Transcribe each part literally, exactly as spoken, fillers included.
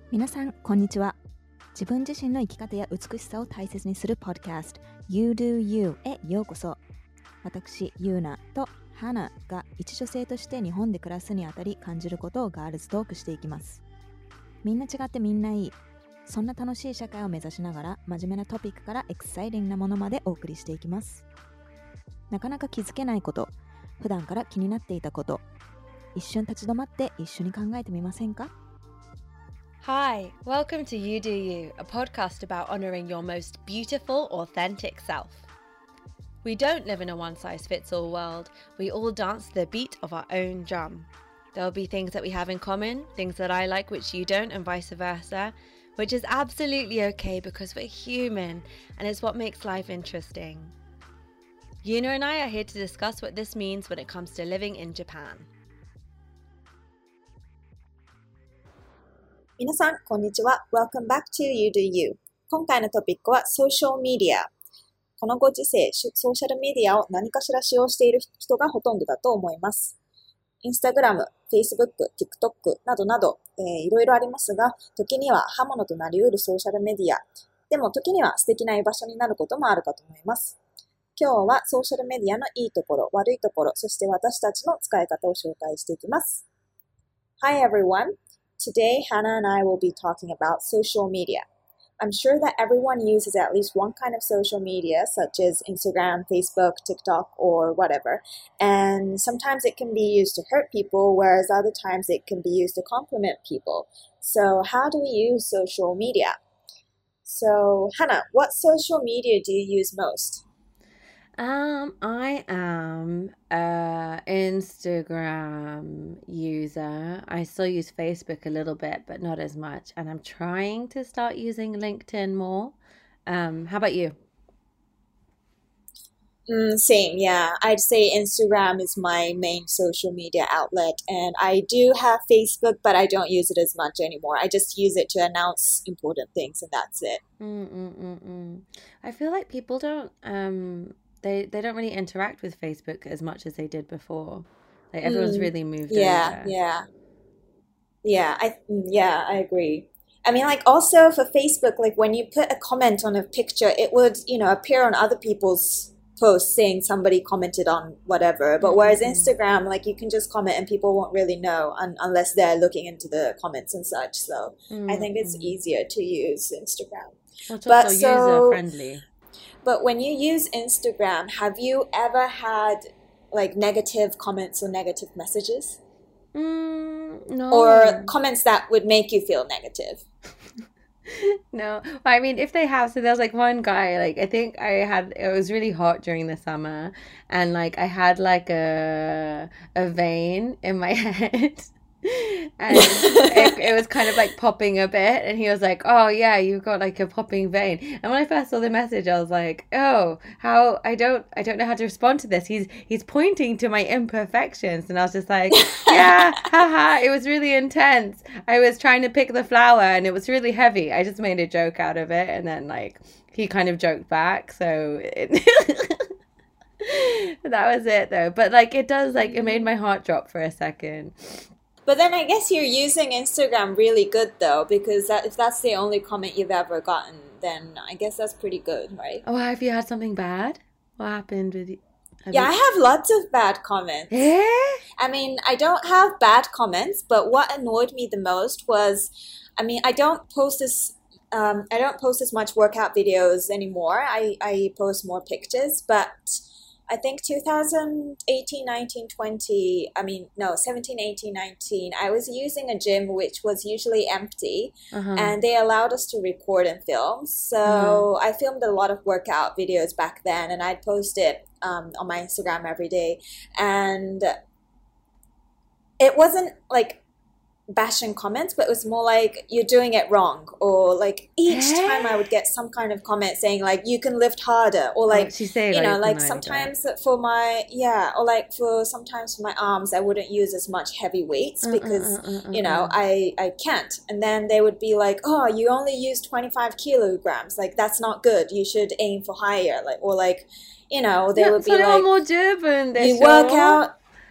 皆さんこんにちは。自分自身の生き方や美しさを大切にするポッドキャスト You Do You へようこそ。私ユーナとハナが一女性として日本で暮らすにあたり感じることをガールズトークしていきます。みんな違ってみんないい、そんな楽しい社会を目指しながら真面目なトピックからエクサイティングなものまでお送りしていきます。なかなか気づけないこと、普段から気になっていたこと、一瞬立ち止まって一緒に考えてみませんか？ Hi, welcome to You Do You, a podcast about honouring your most beautiful, authentic self. We don't live in a one-size-fits-all world. We all dance to the beat of our own drum. There'll be things that we have in common, things that I like which you don't, and vice versa, which is absolutely okay because we're human, and it's what makes life interesting. Yuna and I are here to discuss what this means when it comes to living in Japan. 皆さん、こんにちは。Welcome back to You Do You。今回のトピックは Social Media。このご時世、ソーシャルメディアを何かしら使用している人がほとんどだと思います。Instagram、Facebook、TikTok などなど、えー、いろいろありますが、時には刃物となり得るソーシャルメディア。でも時には素敵な居場所になることもあるかと思います。今日はソーシャルメディアのいいところ、悪いところ、そして私たちの使い方を紹介していきます。Hi everyone!Today, Hannah and I will be talking about social media. I'm sure that everyone uses at least one kind of social media, such as Instagram, Facebook, TikTok, or whatever. And sometimes it can be used to hurt people, whereas other times it can be used to compliment people. So how do we use social media? So, Hannah, what social media do you use most? Um, I am a Instagram user. I still use Facebook a little bit, but not as much. And I'm trying to start using LinkedIn more. Um, how about you? Mm, same, yeah. I'd say Instagram is my main social media outlet. And I do have Facebook, but I don't use it as much anymore. I just use it to announce important things, and that's it. Mm-mm-mm-mm. I feel like people don't... um. They they don't really interact with Facebook as much as they did before. Like everyone's mm, really moved yeah, over. Yeah, yeah. I yeah, I agree. I mean, like also for Facebook, like when you put a comment on a picture, it would, you know, appear on other people's posts saying somebody commented on whatever. But whereas mm-hmm. Instagram, like you can just comment and people won't really know un- unless they're looking into the comments and such. So mm-hmm. I think it's easier to use Instagram. Well, it's also so, user friendly. But when you use Instagram, have you ever had like negative comments or negative messages? Mm, no. Or comments that would make you feel negative? No. I mean, if they have, so there's like one guy, like I think I had, it was really hot during the summer and like I had like a, a vein in my head. And it, it was kind of like popping a bit and he was like, oh yeah, you've got like a popping vein. And when I first saw the message I was like, oh, how I don't I don't know how to respond to this. He's he's pointing to my imperfections. And I was just like, yeah, haha, it was really intense. I was trying to pick the flower and it was really heavy. I just made a joke out of it and then like he kind of joked back, so it that was it though. But like it does, like it made my heart drop for a second. But then I guess you're using Instagram really good though, because that, if that's the only comment you've ever gotten, then I guess that's pretty good, right? Oh, have you had something bad? What happened with you? Have yeah, you... I have lots of bad comments. Eh? I mean, I don't have bad comments, but what annoyed me the most was, I mean, I don't post this, um, I don't post as much workout videos anymore. I, I post more pictures, but I think two thousand eighteen, nineteen, twenty, I mean, no, seventeen, eighteen, nineteen, I was using a gym which was usually empty, uh-huh. and they allowed us to record and film. So uh-huh. I filmed a lot of workout videos back then, and I'd post it um, on my Instagram every day. And it wasn't like bashing comments, but it was more like you're doing it wrong, or like each time I would get some kind of comment saying like you can lift harder, or like she say, you know like sometimes that. for my yeah or like for sometimes for my arms I wouldn't use as much heavy weights because uh, uh, uh, uh, you know uh. I I can't, and then they would be like, oh, you only use twenty-five kilograms, like that's not good, you should aim for higher, like, or like you know they would be like, you work out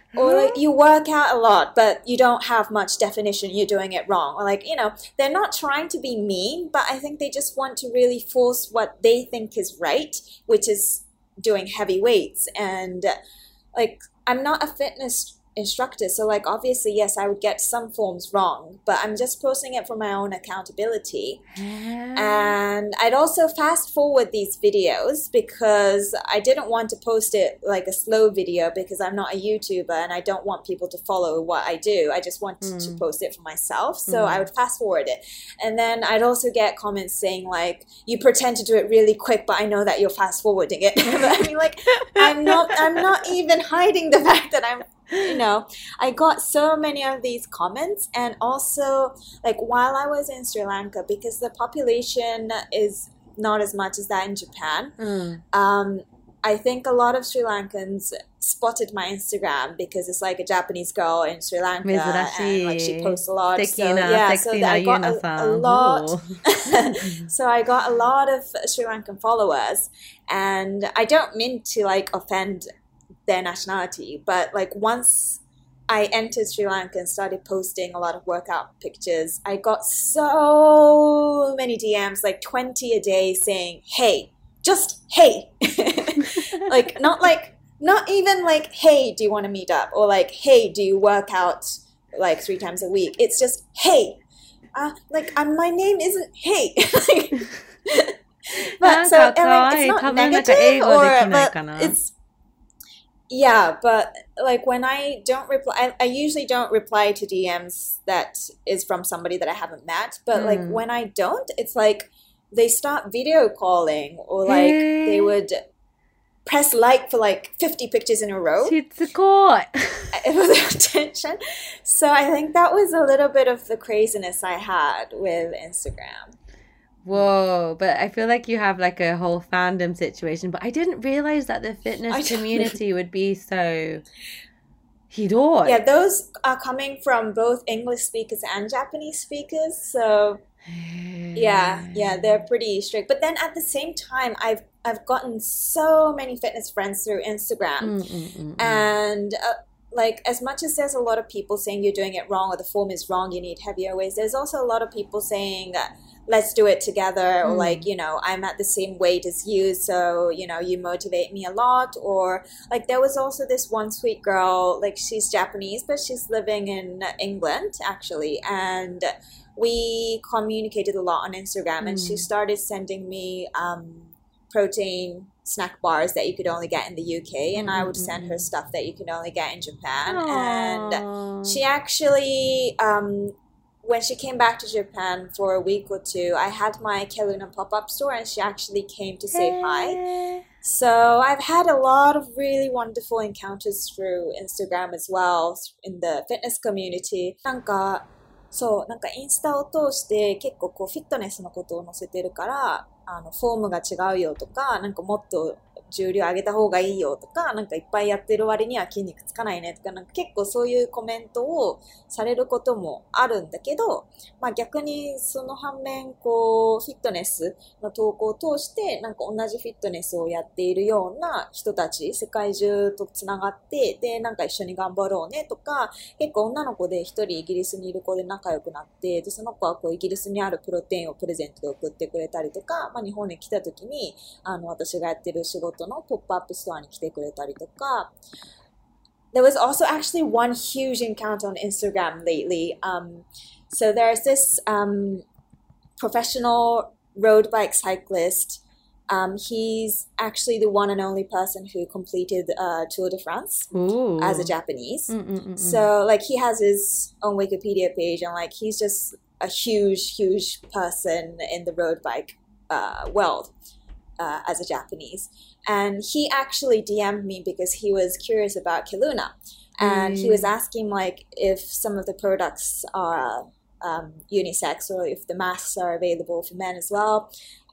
Or like you work out a lot, but you don't have much definition, you're doing it wrong. Or like, you know, they're not trying to be mean, but I think they just want to really force what they think is right, which is doing heavy weights. And like, I'm not a fitness instructor, so like obviously yes, I would get some forms wrong, but I'm just posting it for my own accountability. And I'd also fast forward these videos because I didn't want to post it like a slow video because I'm not a YouTuber and I don't want people to follow what I do. I just want mm. to post it for myself, so mm. I would fast forward it. And then I'd also get comments saying like, you pretend to do it really quick, but I know that you're fast forwarding it. But I mean, like, I'm not I'm not even hiding the fact that I'm, you know, I got so many of these comments. And also like while I was in Sri Lanka, because the population is not as much as that in Japan, mm. um, I think a lot of Sri Lankans spotted my Instagram because it's like a Japanese girl in Sri Lanka and like she posts a lot. So yeah, so I got a, a lot. So I got a lot of Sri Lankan followers, and I don't mean to like offend their nationality, but like once I entered Sri Lanka and started posting a lot of workout pictures, I got so many D Ms, like twenty a day, saying, hey, just hey. Like not like not even like, hey, do you want to meet up? Or like, hey, do you work out like three times a week? It's just hey. Uh, like um, my name isn't hey. But so and, like, it's not negative or but it's yeah, but like when I don't reply, I, I usually don't reply to D Ms that is from somebody that I haven't met. But mm. like when I don't, it's like they start video calling, or like hey. they would press like for like fifty pictures in a row. It was attention. So I think that was a little bit of the craziness I had with Instagram. Whoa, but I feel like you have like a whole fandom situation, but I didn't realize that the fitness community would be so hidoi. Yeah, those are coming from both English speakers and Japanese speakers, so yeah, yeah, they're pretty strict. But then at the same time, I've I've gotten so many fitness friends through Instagram, mm, mm, mm, and uh, like as much as there's a lot of people saying you're doing it wrong or the form is wrong, you need heavier weights, there's also a lot of people saying uh, let's do it together, or mm. like, you know, I'm at the same weight as you, so, you know, you motivate me a lot. Or like there was also this one sweet girl, like she's Japanese, but she's living in England actually, and we communicated a lot on Instagram, mm. and she started sending me um, protein snack bars that you could only get in the U K, and mm-hmm. I would send her stuff that you could only get in Japan. Aww. And she actually um, when she came back to Japan for a week or two, I had my Keluna pop-up store, and she actually came to say hi. So I've had a lot of really wonderful encounters through Instagram as well in the fitness community. なんかそう、なんかインスタを通して結構こうフィットネスのことを載せてるから、あのフォームが違うよとか、なんかもっと重量上げた方がいいよとか、なんかいっぱいやってる割には筋肉つかないねとか、なんか結構そういうコメントをされることもあるんだけど、まあ逆にその反面こうフィットネスの投稿を通してなんか同じフィットネスをやっているような人たち、世界中とつながって、でなんか一緒に頑張ろうねとか、結構女の子で一人イギリスにいる子で仲良くなって、でその子はこうイギリスにあるプロテインをプレゼントで送ってくれたりとか、まあ日本に来た時にあの私がやってる仕事のポップアップストアに来てくれたりとか。There was also actually one huge encounter on Instagram lately. Um, so there's this um, professional road bike cyclist. Um, he's actually the one and only person who completed uh, Tour de France Ooh. As a Japanese. Mm-mm-mm. So like he has his own Wikipedia page, and like he's just a huge, huge person in the road bike uh, world. Uh, as a Japanese, and he actually D M'd me because he was curious about Keluna, and mm. he was asking like if some of the products are um, unisex or if the masks are available for men as well.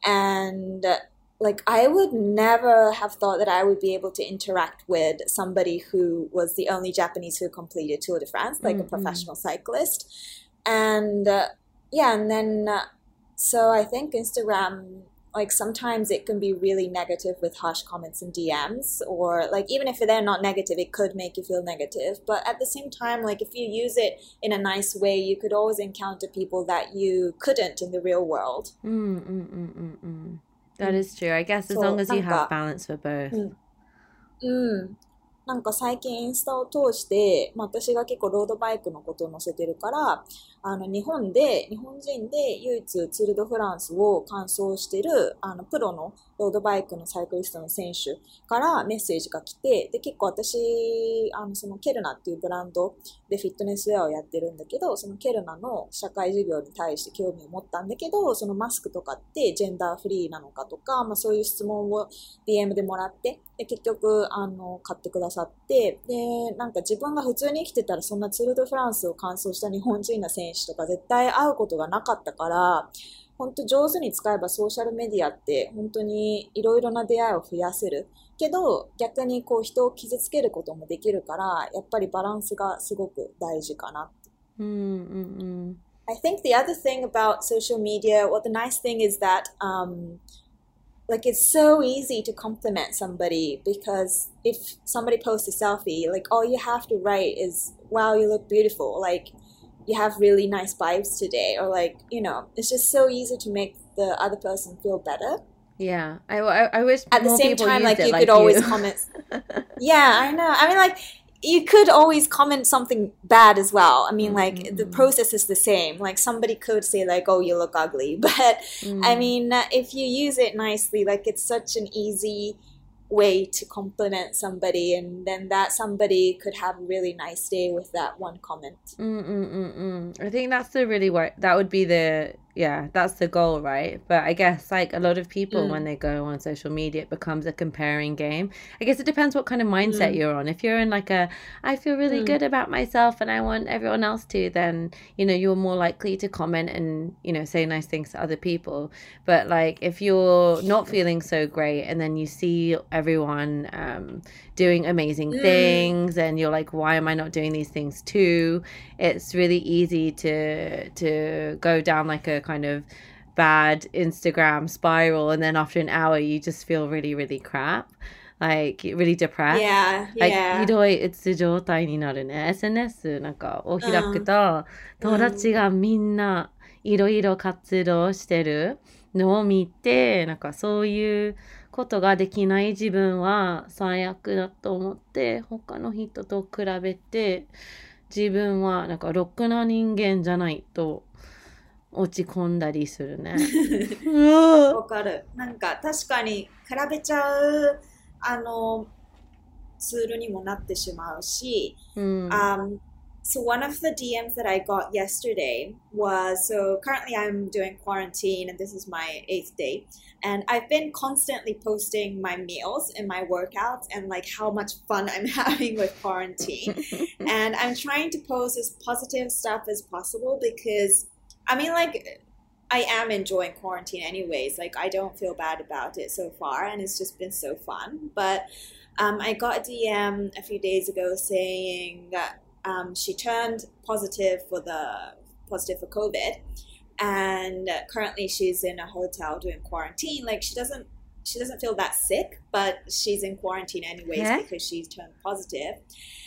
And uh, like I would never have thought that I would be able to interact with somebody who was the only Japanese who completed Tour de France, like mm-hmm. a professional cyclist. And uh, yeah, and then uh, so I think Instagram like sometimes it can be really negative with harsh comments and D Ms, or like even if they're not negative, it could make you feel negative. But at the same time, like if you use it in a nice way, you could always encounter people that you couldn't in the real world. Mm, mm, mm, mm, mm. That is true. I guess as そう、 long as you なんか、 have balance for both. うん。なんか最近インスタを通して、まあ、私が結構ロードバイクのことを載せてるから、あの日本で、日本人で唯一ツール・ド・フランスを完走してるあのプロのロードバイクのサイクリストの選手からメッセージが来て、で結構私、あのそのケルナっていうブランドでフィットネスウェアをやってるんだけど、そのケルナの社会事業に対して興味を持ったんだけど、そのマスクとかってジェンダーフリーなのかとか、まあ、そういう質問を ディーエム でもらって、で結局あの買ってくださって、でなんか自分が普通に生きてたらそんなツール・ド・フランスを完走した日本人の選手とか絶対会うことがなかったから、本当上手に使えばソーシャルメディアって本当にいろいろな出会いを増やせるけど、逆にこう人を傷つけることもできるから、やっぱりバランスがすごく大事かな。 うんうんうん。 I think the other thing about social media, well, the nice thing is that um, like it's so easy to compliment somebody, because if somebody posts a selfie, like all you have to write is, wow, you look beautiful, like you have really nice vibes today, or like, you know, it's just so easy to make the other person feel better. Yeah, I, I, I wish at the more same people time, used like it you like could you. always comment. Yeah, I know. I mean, like you could always comment something bad as well. I mean, like mm-hmm. the process is the same. Like somebody could say like, oh, you look ugly, but mm. I mean, uh, if you use it nicely, like it's such an easy way to compliment somebody, and then that somebody could have a really nice day with that one comment. Mm-mm-mm-mm. I think that's the really what that would be the yeah that's the goal, right? But I guess like a lot of people mm. when they go on social media, it becomes a comparing game. I guess it depends what kind of mindset mm. you're on. If you're in like a I feel really mm. good about myself and I want everyone else to, then you know you're more likely to comment and you know say nice things to other people. But like if you're not feeling so great and then you see everyone um doing amazing mm. things and you're like, why am I not doing these things too? It's really easy to to go down like a kind of bad Instagram spiral, and then after an hour you just feel really really crap, like really depressed. Yeah, like yeah. ひどい状態になるね。 エスエヌエス なんかを開くと、友達がみんないろいろ活動してるのを見て、なんかそういうことができない自分は最悪だと思って、他の人と比べて自分はなんかろくな人間じゃないと落ち込んだりするね。 わかる。なんか確かに比べちゃうあのツールにもなってしまうし、 うん、 um, so one of the D Ms that I got yesterday was, so currently I'm doing quarantine and this is my eighth day, and I've been constantly posting my meals and my workouts and like how much fun I'm having with quarantine. And I'm trying to post as positive stuff as possible because I mean, like, I am enjoying quarantine anyways. Like, I don't feel bad about it so far, and it's just been so fun. But um, I got a D M a few days ago saying that um, she turned positive for the positive for COVID, and currently she's in a hotel doing quarantine. Like, she doesn't she doesn't feel that sick, but she's in quarantine anyways yeah. because she's turned positive.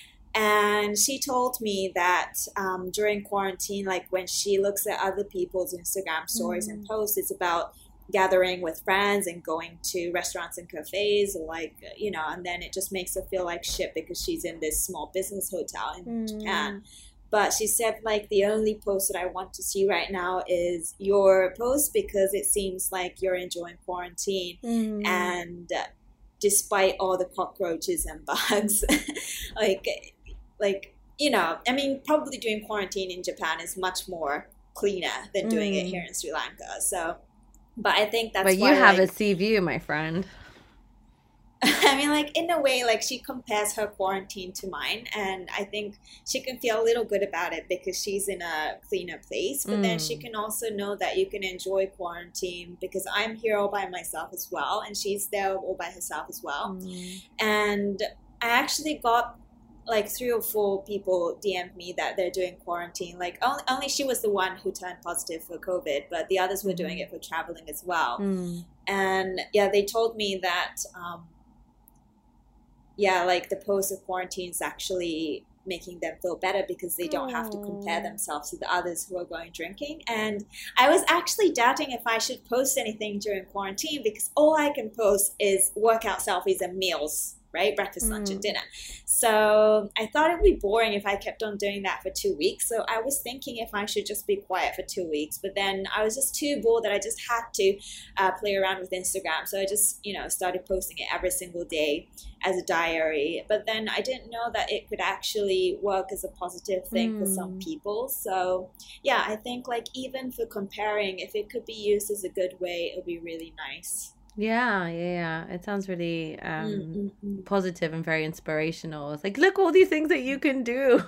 And she told me that um, during quarantine, like when she looks at other people's Instagram stories mm. and posts, it's about gathering with friends and going to restaurants and cafes, or like, you know, and then it just makes her feel like shit because she's in this small business hotel in mm. Japan. But she said, like, the only post that I want to see right now is your post because it seems like you're enjoying quarantine. Mm. And uh, despite all the cockroaches and bugs, like... Like, you know, I mean, probably doing quarantine in Japan is much more cleaner than doing mm. it here in Sri Lanka. So, but I think that's but why, you have like, a sea view, my friend. I mean, like, in a way, like, she compares her quarantine to mine. And I think she can feel a little good about it because she's in a cleaner place. But mm. then she can also know that you can enjoy quarantine because I'm here all by myself as well. And she's there all by herself as well. Mm. And I actually got... like three or four people D M'd me that they're doing quarantine. Like only, only she was the one who turned positive for COVID, but the others were doing it for traveling as well. Mm. And yeah, they told me that, um, yeah, like the post of quarantine is actually making them feel better because they don't have to compare themselves to the others who are going drinking. And I was actually doubting if I should post anything during quarantine because all I can post is workout selfies and meals, right? Breakfast, lunch, and dinner. So I thought it would be boring if I kept on doing that for two weeks. So I was thinking if I should just be quiet for two weeks. But then I was just too bored that I just had to uh, play around with Instagram. So I just, you know, started posting it every single day as a diary. But then I didn't know that it could actually work as a positive thing mm. for some people. So yeah, I think like even for comparing, if it could be used as a good way, it would be really nice. Yeah, yeah, yeah. It sounds really um, Mm-mm-mm. positive and very inspirational. It's like, look, all these things that you can do.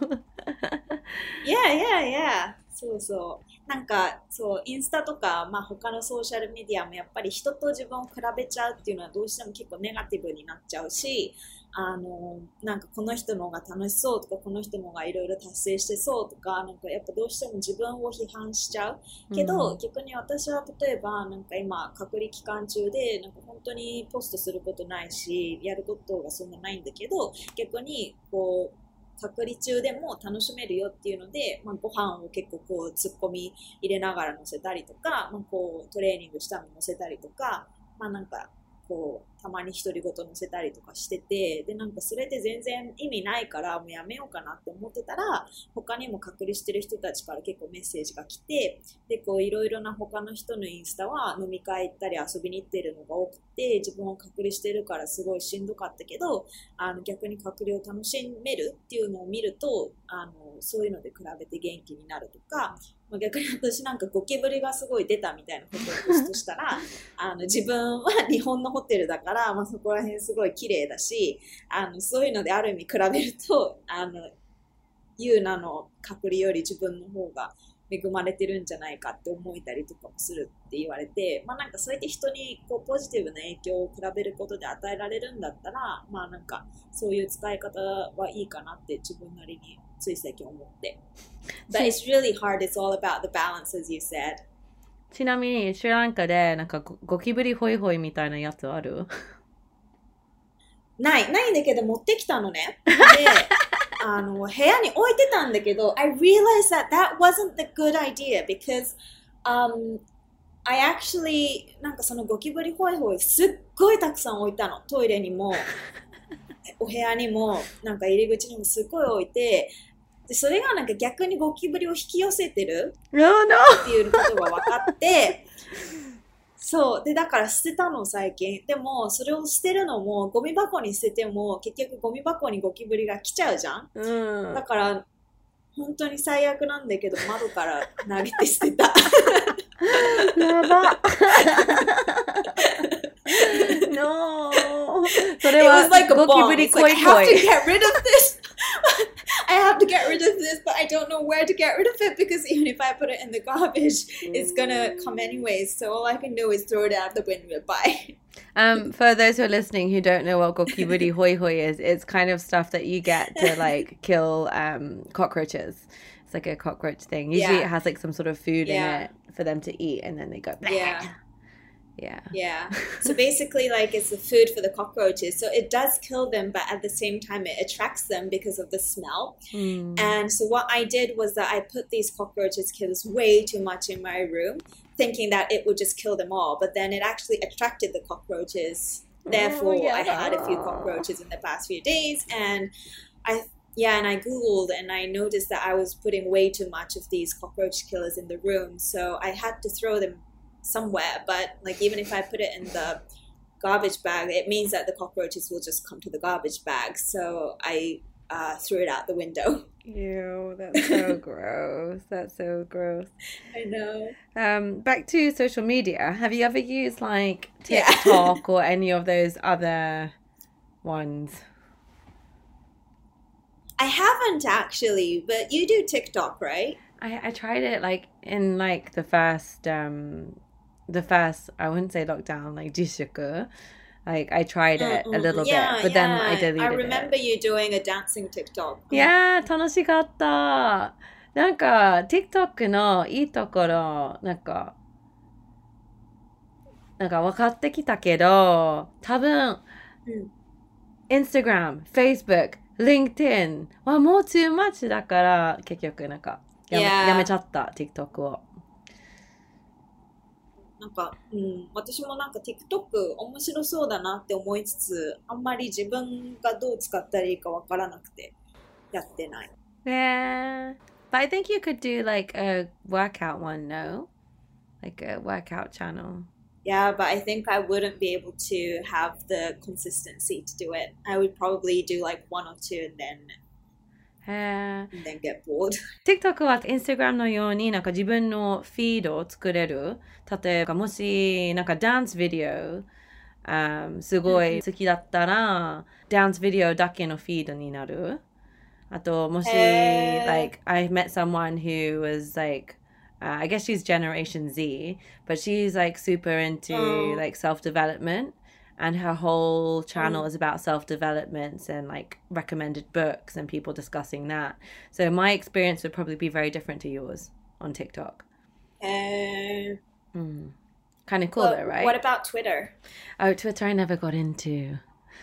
Yeah, yeah, yeah. そうそう。なんか、そう、インスタとか、まあ他のソーシャルメディアもやっぱり人と自分を比べちゃうっていうのはどうしても結構ネガティブになっちゃうし、あの、なんかこの人の方が楽しそうとか、この人の方がいろいろ達成してそうとか、なんかやっぱどうしても自分を批判しちゃう。けど、 うん逆に私は例えば、なんか今、隔離期間中で、なんか本当にポストすることないし、やることがそんなないんだけど、逆に、こう、隔離中でも楽しめるよっていうので、まあ、ご飯を結構こう突っ込み入れながら乗せたりとか、まあ、こうトレーニングしたの乗せたりとか、まあなんかこうたまに独り言乗せたりとかしてて、でなんかそれで全然意味ないからもうやめようかなって思ってたら、他にも隔離してる人たちから結構メッセージが来て、でこういろいろな他の人のインスタは飲み会行ったり遊びに行ってるのが多くて、自分を隔離してるからすごいしんどかったけど、あの逆に隔離を楽しめるっていうのを見ると、あのそういうので比べて元気になるとか、まあ、逆に私なんかゴキブリがすごい出たみたいなことをポストしたらあの自分は日本のホテルだから、まあ、そこら辺すごい綺麗だし、あのそういうのである意味比べるとあのユーナの隔離より自分の方が恵まれてるんじゃないかって思えたりとかもするって言われて、まあなんかそうやって人にこうポジティブな影響を比べることで与えられるんだったら、まあなんかそういう使い方はいいかなって自分なりについ最近思って。But it's really hard. It's all about the balance, as you said. ちなみに、シュランカで、なんかゴ、ゴキブリホイホイみたいなやつある？ ない、ないんだけど持ってきたのね。で、あの、部屋に置いてたんだけど、I realized that that wasn't the good idea because, um, I actually, なんかそのゴキブリホイホイすっごいたくさん置いたの。トイレにも、お部屋にも、なんか入り口にもすっごい置いて、でそれがなんか逆にゴキブリを引き寄せてるっていうことが分かって、そうでだから捨てたの最近。でもそれを捨てるのもゴミ箱に捨てても結局ゴミ箱にゴキブリが来ちゃうじゃん、うん、だから本当に最悪なんだけど窓から投げて捨てたやばNo それはゴキブリ恋恋 I have to get rid of this, but I don't know where to get rid of it because even if I put it in the garbage, it's gonna come anyways. So all I can do is throw it out the window. Bye. Um, for those who are listening who don't know what gokiburi hoi hoi is, it's kind of stuff that you get to like kill um, cockroaches. It's like a cockroach thing. Usually yeah. it has like some sort of food yeah. in it for them to eat, and then they go. Bleh. Yeah. Yeah. Yeah. So basically, like, it's the food for the cockroaches. So it does kill them, but at the same time, it attracts them because of the smell. Mm. And so what I did was that I put these cockroaches killers way too much in my room, thinking that it would just kill them all. But then it actually attracted the cockroaches. Therefore, oh, yeah. I had a few cockroaches in the past few days. And I... Yeah, and I Googled and I noticed that I was putting way too much of these cockroach killers in the room. So I had to throw them somewhere, but like even if I put it in the garbage bag, it means that the cockroaches will just come to the garbage bag. So I uh, threw it out the window. Ew, that's so gross. That's so gross. I know. Um, back to social media. Have you ever used like TikTok yeah. or any of those other ones? I haven't actually, but you do TikTok, right? I, I tried it like in like the first um the first I wouldn't say lockdown, like jishuku. Like I tried it a little yeah, bit, but yeah. then I deleted I remember it. you doing a dancing TikTok. いやー、楽しかった。なんか TikTok のいいところ、なんか、なんか分かってきたけど、多分、 うん、 Instagram、Facebook、LinkedIn はもう too much だから、結局なんかやめ、 Yeah. やめちゃった、TikTok を。 なんか、うん、私もなんか TikTok 面白そうだなって思いつつ、あんまり自分がどう使ったらいいかわからなくてやってない。 Yeah. But I think you could do like a workout one, no? Like a workout channel. Yeah, but I think I wouldn't be able to have the consistency to do it. I would probably do like one or two and then, and then get bored. TikTok は Instagram のようになんか自分のフィードを作れる。例えばもしなんかダンスビデオ、um, すごい好きだったら、ダンスビデオだけのフィードになる。あともし、 へー like I met someone who was like uh, I guess she's Generation Z, but she's like super into Oh. like self-development, and her whole channel Oh. is about self-development and like recommended books and people discussing that. So my experience would probably be very different to yours on TikTok. Uh, Mm. Kind of cool well, though, right? What about Twitter? Oh, Twitter I never got into.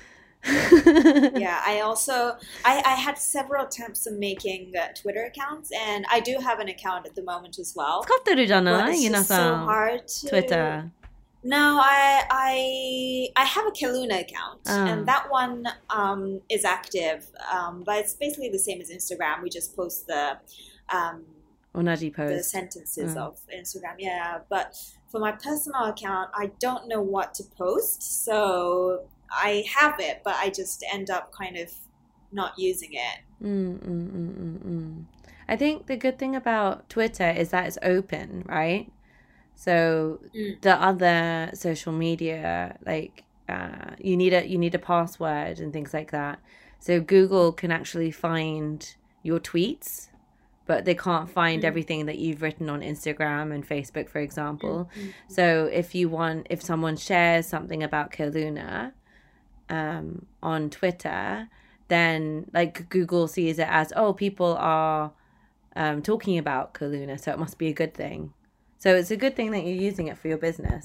Yeah, I also I, I had several attempts of making uh, Twitter accounts, and I do have an account at the moment as well. 使ってるじゃ But ない it's ゆな just so さん hard to Twitter. No, I I I have a Kaluna account, Ah. and that one um, is active, um, but it's basically the same as Instagram. We just post the um, 同じ the post. sentences Mm. of Instagram. Yeah, but for my personal account, I don't know what to post, so I have it, but I just end up kind of not using it. Mm, mm, mm, mm, mm. I think the good thing about Twitter is that it's open, right? So Mm. the other social media, like uh, you need a you need a password and things like that. So Google can actually find your tweets, but they can't find Mm. everything that you've written on Instagram and Facebook, for example. Mm. So if you want, if someone shares something about Keluna um, on Twitter, then like Google sees it as, oh, people are um, talking about Keluna, so it must be a good thing. So it's a good thing that you're using it for your business.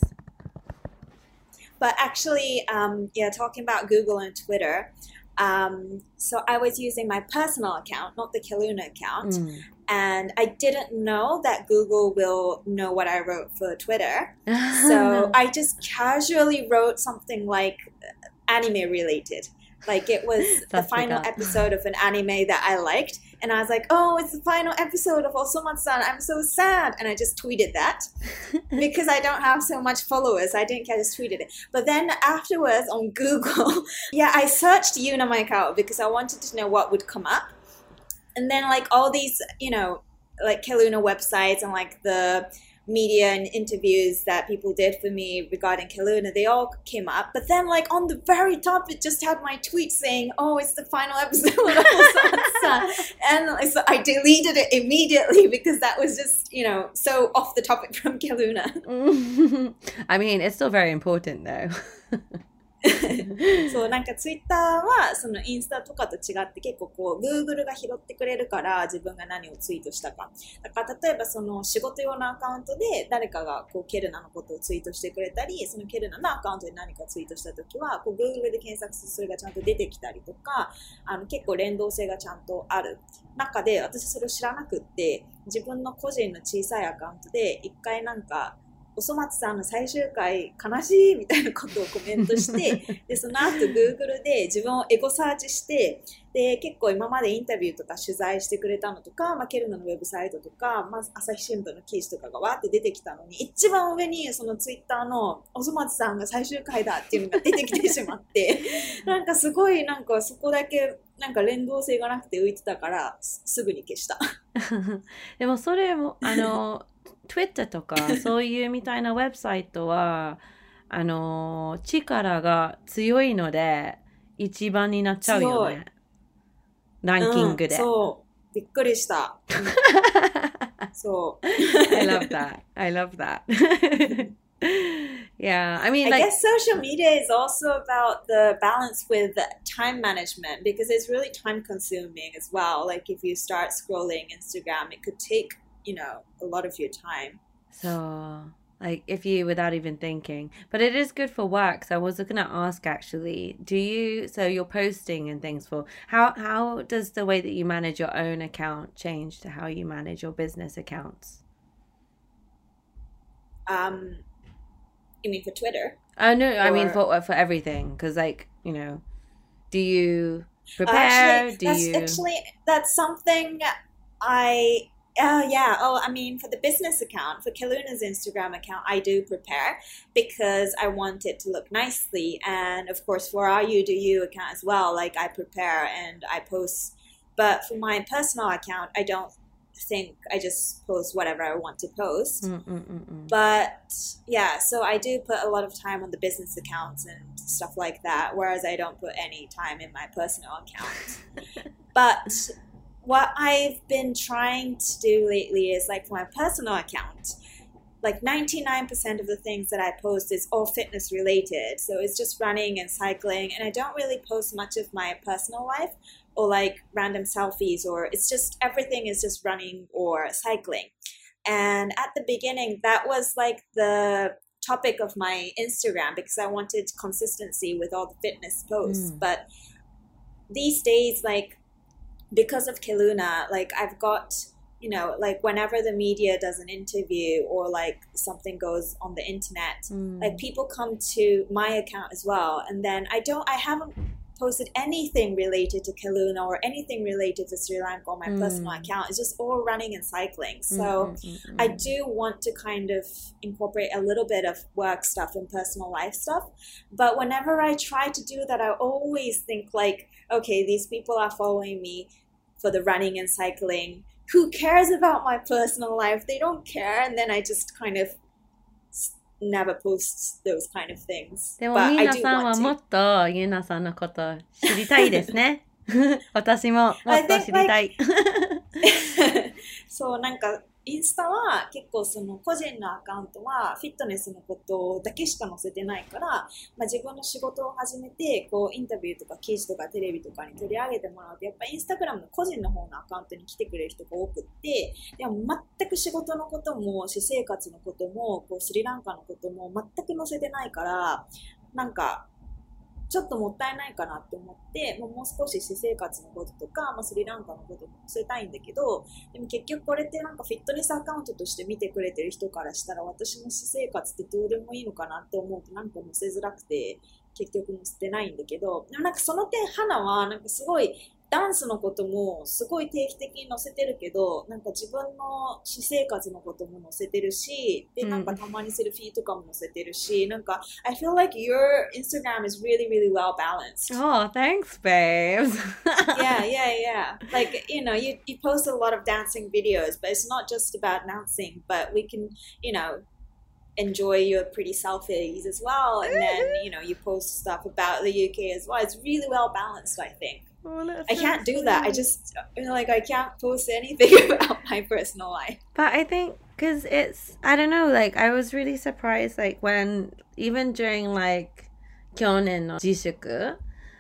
But actually, um, yeah, talking about Google and Twitter, um, so I was using my personal account, not the Kaluna account, Mm. and I didn't know that Google will know what I wrote for Twitter. So I just casually wrote something like anime related. Like it was the That's final like a- episode of an anime that I liked. And I was like, oh, it's the final episode of Osomatsu-san. I'm so sad. And I just tweeted that because I don't have so much followers. I didn't, I just tweeted it. But then afterwards on Google, yeah, I searched Yuna Maikawa because I wanted to know what would come up. And then like all these, you know, like Keluna websites and like the media and interviews that people did for me regarding Keluna, they all came up. But then like on the very top, it just had my tweet saying, oh, it's the final episode of Osomatsu-san. And so I deleted it immediately because that was just, you know, so off the topic from Keluna. I mean, it's still very important though. そうなんかツイッターはそのインスタとかと違って結構こう Google が拾ってくれるから自分が何をツイートしたかだから例えばその仕事用のアカウントで誰かがこうケルナのことをツイートしてくれたりそのケルナのアカウントで何かツイートしたときはこう Google で検索するとそれがちゃんと出てきたりとかあの結構連動性がちゃんとある中で私それを知らなくって自分の個人の小さいアカウントで一回なんかおそ松さんの最終回悲しいみたいなことをコメントしてでその後 Google で自分をエゴサーチしてで結構今までインタビューとか取材してくれたのとか、まあ、ケルナのウェブサイトとか、まあ、朝日新聞の記事とかがわーって出てきたのに一番上にそのツイッターのおそ松さんが最終回だっていうのが出てきてしまってなんかすごいなんかそこだけなんか連動性がなくて浮いてたからす, すぐに消したでもそれもあのTwitter とかそういうみたいなウェブサイトはあの力が強いので一番になっちゃうよねランキングで、 うん、そうびっくりした、うん、そう I love that I love that Yeah, I mean, I like, guess social media is also about the balance with time management because it's really time consuming as well. Like if you start scrolling Instagram, it could take, you know, a lot of your time. so, like, if you, without even thinking, but it is good for work. So I was going to ask actually, do you, so you're posting and things for, how, how does the way that you manage your own account change to how you manage your business accounts? Um, you mean for Twitter? Oh, no, I mean, Or- for, for everything. Because, like, you know, do you prepare? Actually, do that's you? actually that's something I. Oh yeah. Oh, I mean, for the business account, for Kaluna's Instagram account, I do prepare because I want it to look nicely, and of course, for our You Do You account as well. Like I prepare and I post, but for my personal account, I don't think I just post whatever I want to post. Mm-mm-mm-mm. But yeah, so I do put a lot of time on the business accounts and stuff like that, whereas I don't put any time in my personal account. But what I've been trying to do lately is like for my personal account, like ninety-nine percent of the things that I post is all fitness related. So it's just running and cycling, and I don't really post much of my personal life or like random selfies, or it's just everything is just running or cycling. And at the beginning, that was like the topic of my Instagram because I wanted consistency with all the fitness posts. Mm. But these days, like because of Keluna, like I've got, you know, like whenever the media does an interview or like something goes on the internet, Mm. like people come to my account as well. And then I don't, I haven't posted anything related to Keluna or anything related to Sri Lanka on my Mm. personal account. It's just all running and cycling. So Mm-mm-mm-mm. I do want to kind of incorporate a little bit of work stuff and personal life stuff. But whenever I try to do that, I always think like, okay, these people are following me for the running and cycling. Who cares about my personal life? They don't care. And then I just kind of s- never post those kind of things. でも But み I な do さんは want も to. っとゆなさんのこと知りたいですね。私ももっと知りたい。 そう、なんかインスタは結構その個人のアカウントはフィットネスのことだけしか載せてないから、まあ、自分の仕事を始めてこうインタビューとか記事とかテレビとかに取り上げてもらうとやっぱインスタグラムの個人の方のアカウントに来てくれる人が多くってでも全く仕事のことも私生活のこともこうスリランカのことも全く載せてないからなんかちょっともったいないかなって思ってもうもう少し私生活のこととか、まあ、スリランカのことも載せたいんだけどでも結局これってなんかフィットネスアカウントとして見てくれてる人からしたら私の私生活ってどうでもいいのかなって思うとなんか載せづらくて結局載せてないんだけどでもなんかその点花はなんかすごいダンスのこともすごい定期的に載せてるけどなんか自分の私生活のことも載せてるしでなんかたまにセルフィーとかも載せてるしなんか I feel like your Instagram is really really well balanced. Oh, thanks, babes. yeah, yeah, yeah. Like, you know, you, you post a lot of dancing videos, but it's not just about dancing, but we can, you know, enjoy your pretty selfies as well. And then, you know, you post stuff about the U K as well. It's really well balanced, I think. Oh, that's I so can't do that. I sweet. just, you know, like, I can't post anything about my personal life. But I think because it's, I don't know, like I was really surprised, like when, even during like Kyonen no Jishuku,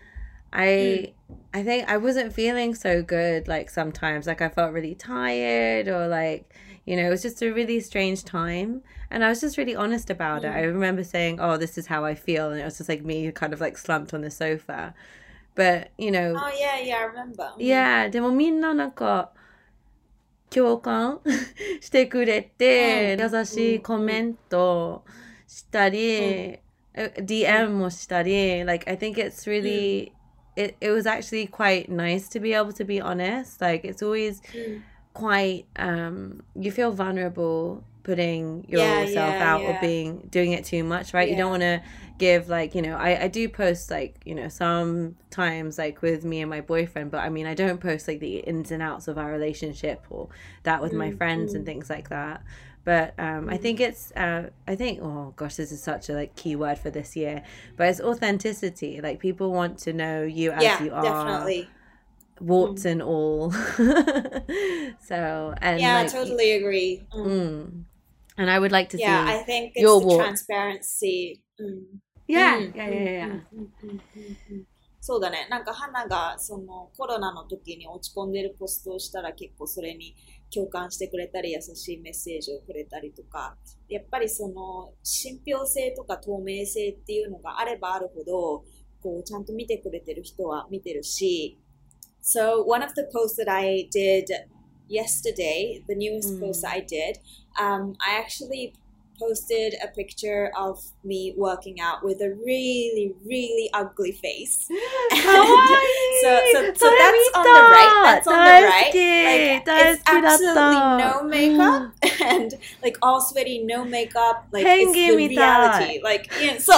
I, I think I wasn't feeling so good, like sometimes, like I felt really tired or like, you know, it was just a really strange time. And I was just really honest about it. Mm. I remember saying, oh, this is how I feel. And it was just like me kind of like slumped on the sofa. But, you know, Oh, yeah, yeah, I remember. Mm. yeah, でもみんななんか共感してくれて、 うん優しいコメントしたり、え ディーエム もしたり、like I think it's really, it, it was actually quite nice to be able to be honest. Like it's always Mm. quite, um, you feel vulnerable putting Yeah, yourself yeah, out or yeah. being, doing it too much, right? You don't want Yeah. to give like, you know, I, I do post like, you know, sometimes like with me and my boyfriend, but I mean, I don't post like the ins and outs of our relationship or that with my Mm, friends mm. and things like that. But um, I Mm. think it's, uh, I think, oh gosh, this is such a like key word for this year, but it's authenticity. Like people want to know you as Yeah, you are, definitely. warts and all. So, and Yeah, I like, totally agree. Mm. mm, And I would like to Yeah, see I think it's your the walk. transparency. うん Yeah, うん yeah, うん yeah, う yeah. んうんうんうんうんそうだね。なんか花がそのコロナの時に落ち込んでるポストをしたら結構それに共感してくれたり優しいメッセージをくれたりとか、やっぱりその信憑性とか透明性っていうのがあればあるほど、こうちゃんと見てくれてる人は見てるし、So one of the posts that I did yesterday, the newest post I did, um, I actually posted a picture of me working out with a really, really ugly face. And so, so, so that's on the right. That's on the right. Like, it's absolutely no makeup and like all sweaty, no makeup. Like, it's the reality. Like, yeah, so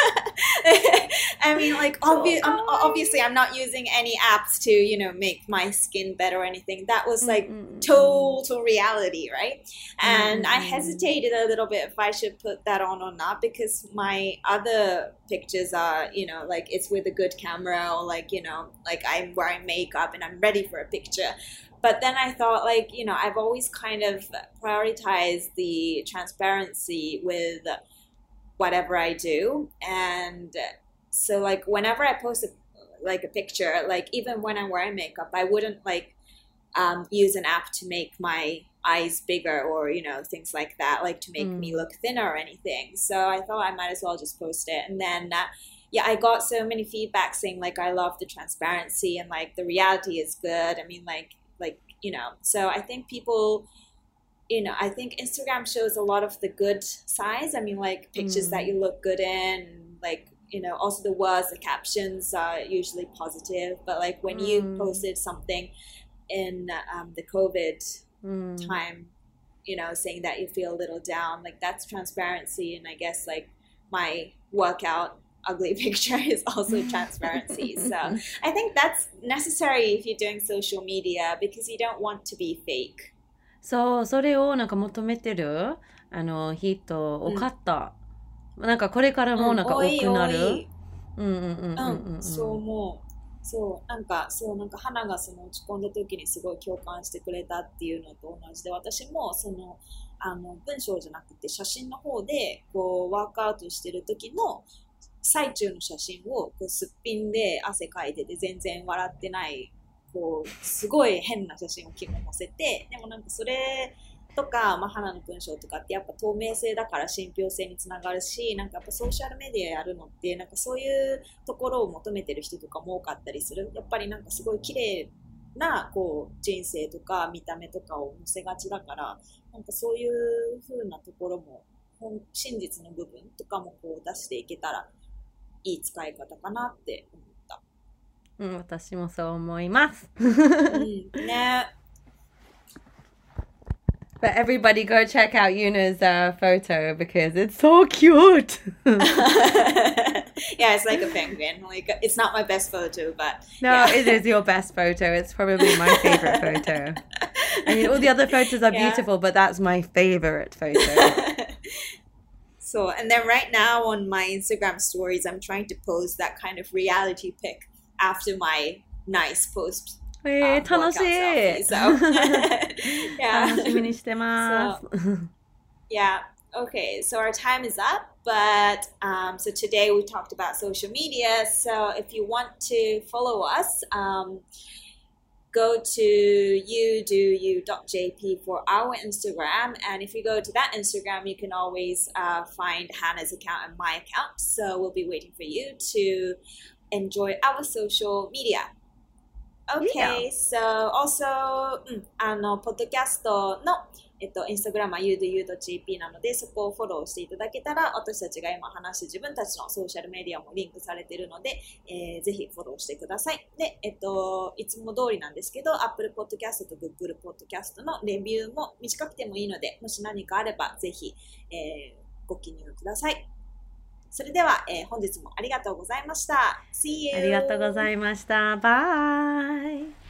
I mean, like, obvi- I'm, obviously, I'm not using any apps to, you know, make my skin better or anything. That was like total reality, right? And I hesitated a little bit if I should put that on or not because my other pictures are, you know, like it's with a good camera or like, you know, like I'm wearing makeup and I'm ready for a picture. But then I thought, like, you know, I've always kind of prioritized the transparency with whatever I do. And so, like, whenever I post a, like a picture, like even when I'm wearing makeup, I wouldn't like um, use an app to make my eyes bigger or, you know, things like that, like to make mm. me look thinner or anything. So I thought I might as well just post it. And then uh, yeah, I got so many feedback saying like I love the transparency and like the reality is good. I mean, like like you know, so I think people, you know, I think Instagram shows a lot of the good sides. I mean, like pictures mm. that you look good in, like, you know, also the words, the captions are usually positive. But like when mm. you posted something in um, the COVID mm. time, you know, saying that you feel a little down, like that's transparency. And I guess like my workout ugly picture is also transparency. So I think that's necessary if you're doing social media because you don't want to be fake. そう、それをなんか求めてるあの人多かった。うん、なんかこれからもなんか多くなる。 うんうんうんうん。そう思う。そう、なんかそうなんか花がその落ち込んだ時にすごい共感してくれたっていうのと同じで、私もそのあの文章じゃなくて写真の方でこうワークアウトしてる時の最中の写真をこうすっぴんで汗かいてて全然笑ってないこうすごい変な写真を昨日載せて、でもなんかそれとか、まあ、花の文章とかってやっぱ透明性だから信憑性につながるし、なんかやっぱソーシャルメディアやるのってなんかそういうところを求めてる人とかも多かったりする。やっぱりなんかすごい綺麗なこう人生とか見た目とかを載せがちだから、なんかそういう風なところも真実の部分とかもこう出していけたらいい使い方かなって思った。 うん、私もそう思います。 うん、ね。 But everybody go check out Yuna's uh, photo because it's so cute. Yeah, it's like a penguin. Like it's not my best photo, but no, yeah. It is your best photo. It's probably my favorite photo. I mean, all the other photos are yeah. beautiful, but that's my favorite photo. So, and then right now on my Instagram stories, I'm trying to post that kind of reality pic after my nice post. えー、楽しい。 So, yeah. 楽しみにしてます。 So, yeah. Okay. So our time is up, but um, so today we talked about social media. So if you want to follow us, um, go to you do you dot j p for our Instagram, and if you go to that Instagram, you can always uh, find Hannah's account and my account. So we'll be waiting for you to enjoy our social media.Okay, so also、うん、あのポッドキャストの、えっと、インスタグラムは ユードゥーユードットジェーピー なのでそこをフォローしていただけたら私たちが今話して自分たちのソーシャルメディアもリンクされているので、えー、ぜひフォローしてください。で、えっと、いつも通りなんですけど Apple Podcast と Google Podcast のレビューも短くてもいいのでもし何かあればぜひ、えー、ご記入ください。それでは、えー、本日もありがとうございました。See you! ありがとうございました。バイ